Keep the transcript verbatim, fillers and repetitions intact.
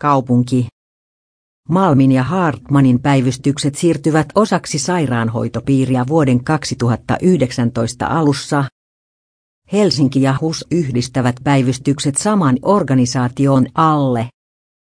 kaupunki. Malmin ja Hartmanin päivystykset siirtyvät osaksi sairaanhoitopiiriä vuoden kaksituhattayhdeksäntoista alussa. Helsinki ja H U S yhdistävät päivystykset saman organisaation alle.